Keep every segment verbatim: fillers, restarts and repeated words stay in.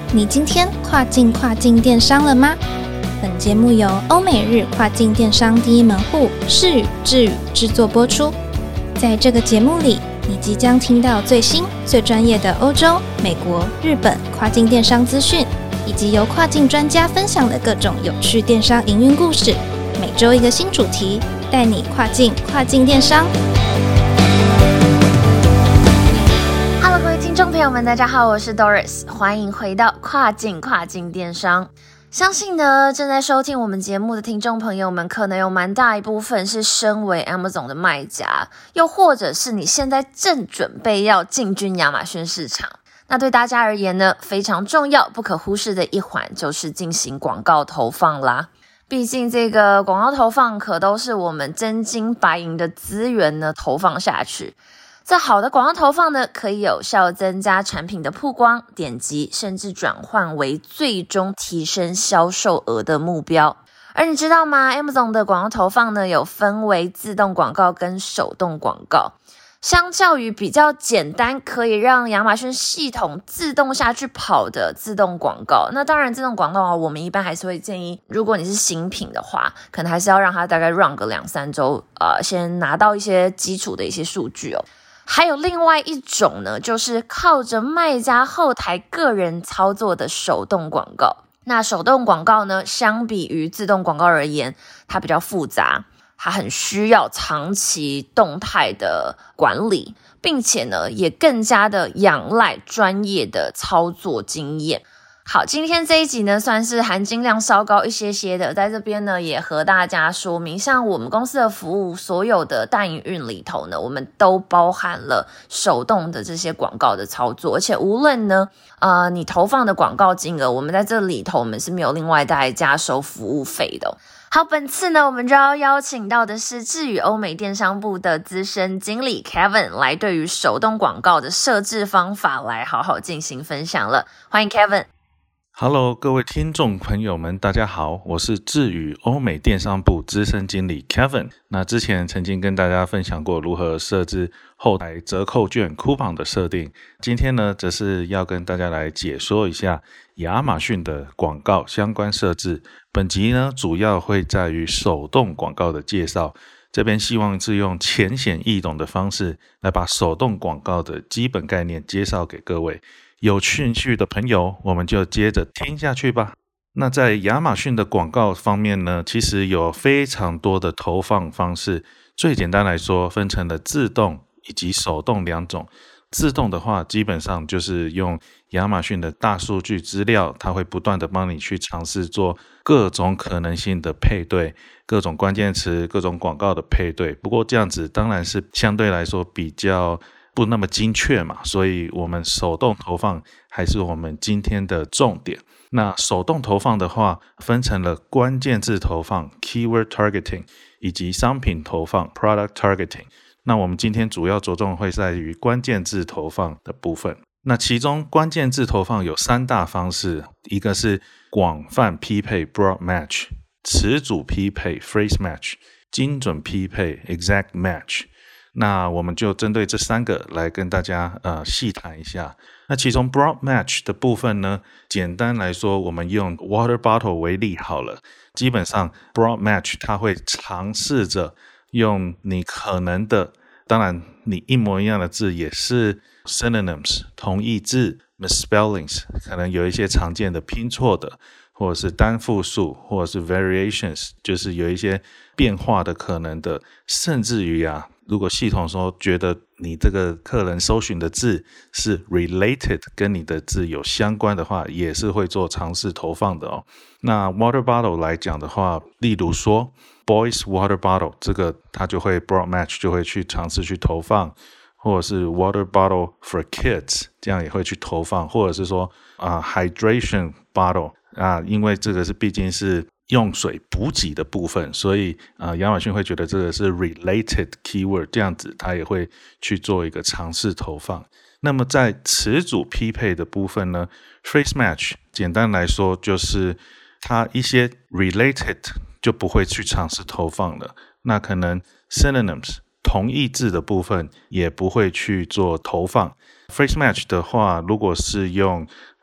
你今天跨境跨境电商了吗？本节目由欧美日跨境电商第一门户视宇智宇制作播出。在这个节目里，你即将听到最新最专业的欧洲、美国、日本跨境电商资讯，以及由跨境专家分享的各种有趣电商营运故事。每周一个新主题，带你跨境跨境电商。 Hello， 各位听众朋友们，大家好，我是 Doris， 欢迎回到跨境跨境电商。相信呢，正在收听我们节目的听众朋友们，可能有蛮大一部分是身为 Amazon 的卖家，又或者是你现在正准备要进军亚马逊市场。那对大家而言呢，非常重要、不可忽视的一环就是进行广告投放啦。毕竟这个广告投放可都是我们真金白银的资源呢，投放下去。这好的广告投放呢，可以有效增加产品的曝光、点击，甚至转换为最终提升销售额的目标。而你知道吗？ Amazon 的广告投放呢，有分为自动广告跟手动广告。相较于比较简单可以让亚马逊系统自动下去跑的自动广告，那当然自动广告我们一般还是会建议，如果你是新品的话，可能还是要让它大概 run 个两三周，呃，先拿到一些基础的一些数据哦。还有另外一种呢，就是靠着卖家后台个人操作的手动广告。那手动广告呢，相比于自动广告而言，它比较复杂，它很需要长期动态的管理，并且呢，也更加的仰赖专业的操作经验。好，今天这一集呢，算是含金量稍高一些些的，在这边呢，也和大家说明，像我们公司的服务，所有的大营运里头呢，我们都包含了手动的这些广告的操作，而且无论呢，呃，你投放的广告金额，我们在这里头，我们是没有另外再加收服务费的。好，本次呢，我们就要邀请到的是智宇欧美电商部的资深经理 Kevin 来对于手动广告的设置方法来好好进行分享了。欢迎 Kevin。Hello， 各位听众朋友们，大家好，我是智宇欧美电商部资深经理 Kevin。那之前曾经跟大家分享过如何设置后台折扣券 coupon 的设定，今天呢，则是要跟大家来解说一下亚马逊的广告相关设置。本集呢，主要会在于手动广告的介绍，这边希望是用浅显易懂的方式来把手动广告的基本概念介绍给各位。有兴趣的朋友，我们就接着听下去吧。那在亚马逊的广告方面呢，其实有非常多的投放方式，最简单来说分成了自动以及手动两种。自动的话，基本上就是用亚马逊的大数据资料，它会不断的帮你去尝试做各种可能性的配对，各种关键词、各种广告的配对。不过这样子当然是相对来说比较不那么精确嘛，所以我们手动投放还是我们今天的重点。那手动投放的话，分成了关键字投放 keyword targeting 以及商品投放 product targeting。那我们今天主要着重会在于关键字投放的部分。那其中关键字投放有三大方式，一个是广泛匹配 broad match， 词组匹配 phrase match， 精准匹配 exact match。那我们就针对这三个来跟大家呃细谈一下。那其中 broad match 的部分呢，简单来说，我们用 water bottle 为例好了。基本上 broad match 它会尝试着用你可能的，当然你一模一样的字也是 synonyms 同义字 misspellings， 可能有一些常见的拼错的，或者是单复数，或者是 variations， 就是有一些变化的可能的，甚至于啊，如果系统说觉得你这个客人搜寻的字是 related， 跟你的字有相关的话，也是会做尝试投放的哦。那 water bottle 来讲的话，例如说 boys water bottle， 这个它就会 broad match 就会去尝试去投放，或者是 water bottle for kids， 这样也会去投放，或者是说、呃、hydration bottle 啊，因为这个是毕竟是用水补给的部分，所以呃，亚马逊会觉得这个是 related keyword， 这样子它也会去做一个尝试投放。那么在词组匹配的部分呢， phrase match 简单来说就是它一些 related 就不会去尝试投放了，那可能 synonyms 同义字的部分也不会去做投放。phrase match 的话，如果是用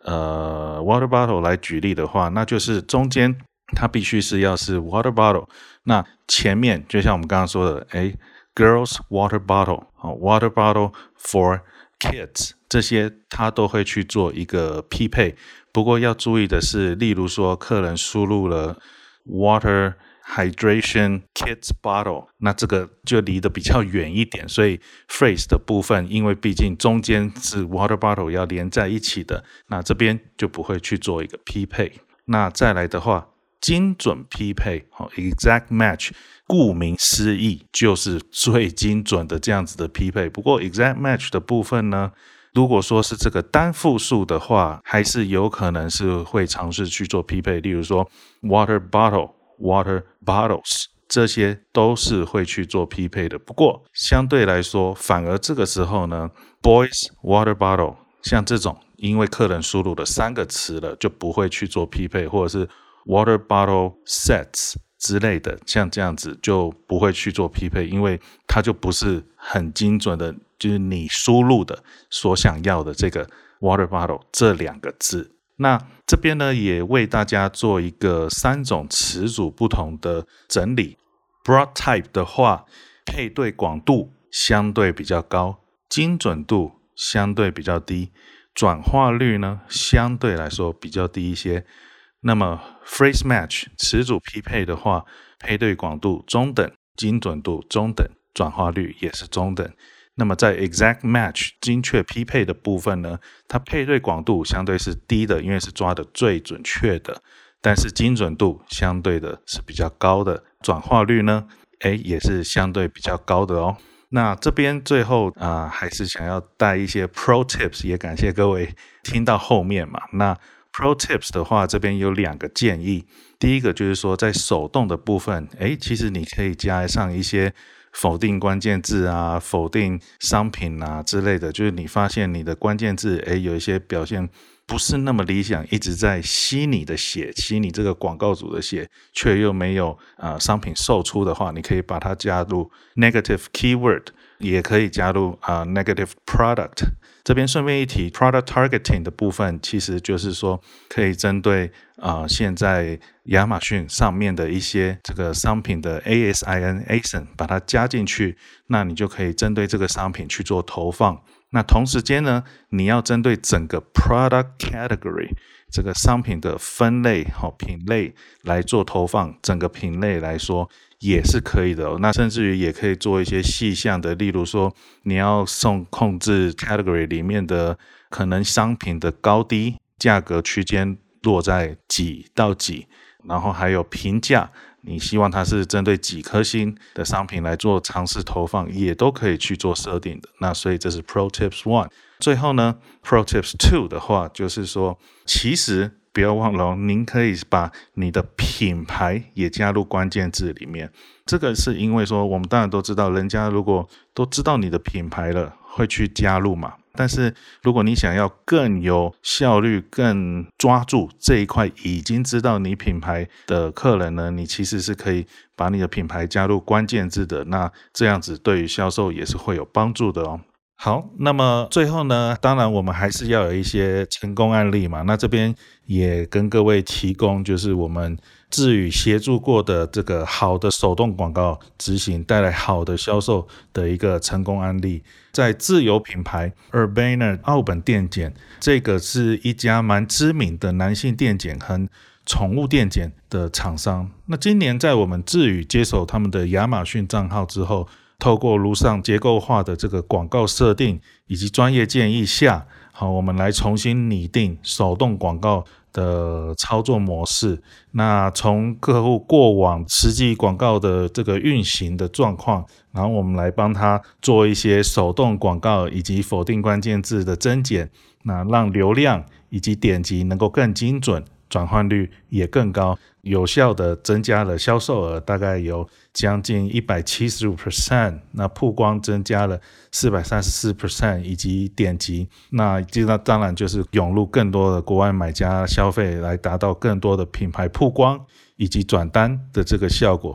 呃 water bottle 来举例的话，那就是中间它必须是要是 water bottle， 那前面就像我们刚刚说的，诶 girls water bottle、哦、water bottle for kids， 这些它都会去做一个匹配。不过要注意的是，例如说客人输入了 water hydration kids bottle， 那这个就离得比较远一点，所以 phrase 的部分因为毕竟中间是 water bottle 要连在一起的，那这边就不会去做一个匹配。那再来的话，精准匹配、哦、exact match， 顾名思义就是最精准的这样子的匹配。不过 exact match 的部分呢，如果说是这个单复数的话，还是有可能是会尝试去做匹配，例如说 water bottle、water bottles， 这些都是会去做匹配的。不过相对来说，反而这个时候呢 boys water bottle 像这种因为客人输入了三个词了，就不会去做匹配，或者是 water bottle sets 之类的，像这样子就不会去做匹配，因为它就不是很精准的，就是你输入的所想要的这个 water bottle 这两个字。那这边呢，也为大家做一个三种词组不同的整理。Broad type 的话，配对广度相对比较高，精准度相对比较低，转化率呢相对来说比较低一些。那么 phrase match 词组匹配的话，配对广度中等，精准度中等，转化率也是中等。那么在 exact match 精确匹配的部分呢，它配对广度相对是低的，因为是抓的最准确的，但是精准度相对的是比较高的，转化率呢诶也是相对比较高的哦。那这边最后啊、呃，还是想要带一些 pro tips， 也感谢各位听到后面嘛。那 pro tips 的话，这边有两个建议。第一个就是说，在手动的部分，诶其实你可以加上一些否定关键字啊，否定商品啊之类的，就是你发现你的关键字诶有一些表现不是那么理想，一直在吸你的血，吸你这个广告主的血，却又没有、呃、商品售出的话，你可以把它加入 negative keyword， 也可以加入、呃、negative product。这边顺便一提 product targeting 的部分，其实就是说可以针对、呃、现在亚马逊上面的一些这个商品的 A S I N A S I N 把它加进去，那你就可以针对这个商品去做投放。那同时间呢，你要针对整个 product category 这个商品的分类、哦、品类来做投放，整个品类来说也是可以的、哦、那甚至于也可以做一些细项的，例如说你要送控制 category 里面的可能商品的高低价格区间落在几到几，然后还有评价，你希望它是针对几颗星的商品来做尝试投放，也都可以去做设定的。那所以这是 Pro Tips one。 最后呢 Pro Tips two 的话，就是说其实不要忘了、哦、您可以把你的品牌也加入关键字里面。这个是因为说我们当然都知道，人家如果都知道你的品牌了会去加入嘛，但是如果你想要更有效率，更抓住这一块已经知道你品牌的客人呢，你其实是可以把你的品牌加入关键字的，那这样子对于销售也是会有帮助的哦。好，那么最后呢，当然我们还是要有一些成功案例嘛，那这边也跟各位提供就是我们智宇协助过的这个好的手动广告执行带来好的销售的一个成功案例。在自有品牌 Urbana 奥本电剪，这个是一家蛮知名的男性电剪和宠物电剪的厂商。那今年在我们智宇接手他们的亚马逊账号之后，透过如上结构化的这个广告设定以及专业建议下，好，我们来重新拟定手动广告的操作模式。那从客户过往实际广告的这个运行的状况，然后我们来帮他做一些手动广告以及否定关键字的增减，那让流量以及点击能够更精准，转换率也更高，有效的增加了销售额，大概有将近 百分之一百七十五， 那曝光增加了 百分之四百三十四， 以及点击，那当然就是涌入更多的国外买家消费，来达到更多的品牌曝光以及转单的这个效果。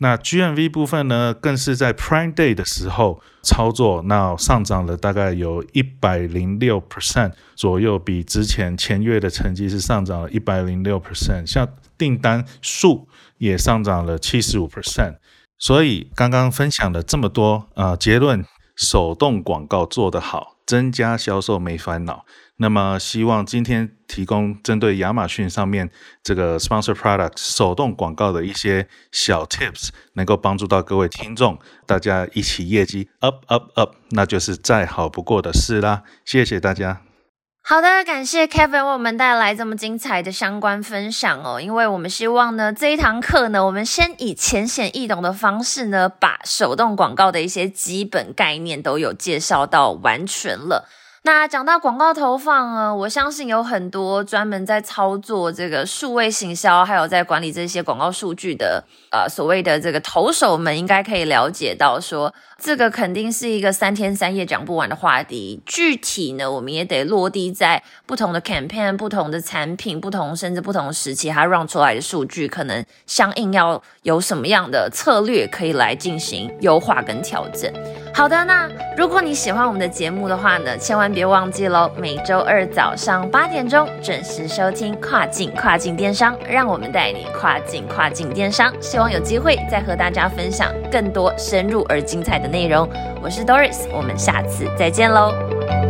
那 G M V 部分呢，更是在 Prime Day 的时候操作，那上涨了大概有 百分之一百零六 左右，比之前前月的成绩是上涨了 百分之一百零六， 像订单数也上涨了 百分之七十五。 所以刚刚分享了这么多，呃，结论，手动广告做得好，增加销售没烦恼。那么希望今天提供针对亚马逊上面这个 sponsor product 手动广告的一些小 tips， 能够帮助到各位听众，大家一起业绩 up up up， 那就是再好不过的事啦。谢谢大家。 好的，感谢 Kevin 为我们带来这么精彩的相关分享哦。因为我们希望呢，这一堂课呢，我们先以浅显易懂的方式呢，把手动广告的一些基本概念都有介绍到完全了。那讲到广告投放呢，我相信有很多专门在操作这个数位行销，还有在管理这些广告数据的呃所谓的这个投手们，应该可以了解到说，这个肯定是一个三天三夜讲不完的话题。具体呢，我们也得落地在不同的 campaign、不同的产品、不同甚至不同时期，它 run 出来的数据，可能相应要有什么样的策略可以来进行优化跟调整。好的，那如果你喜欢我们的节目的话呢，千万别忘记咯，每周二早上八点钟准时收听跨境跨境电商，让我们带你跨境跨境电商。希望有机会再和大家分享更多深入而精彩的内容。我是 Doris， 我们下次再见咯。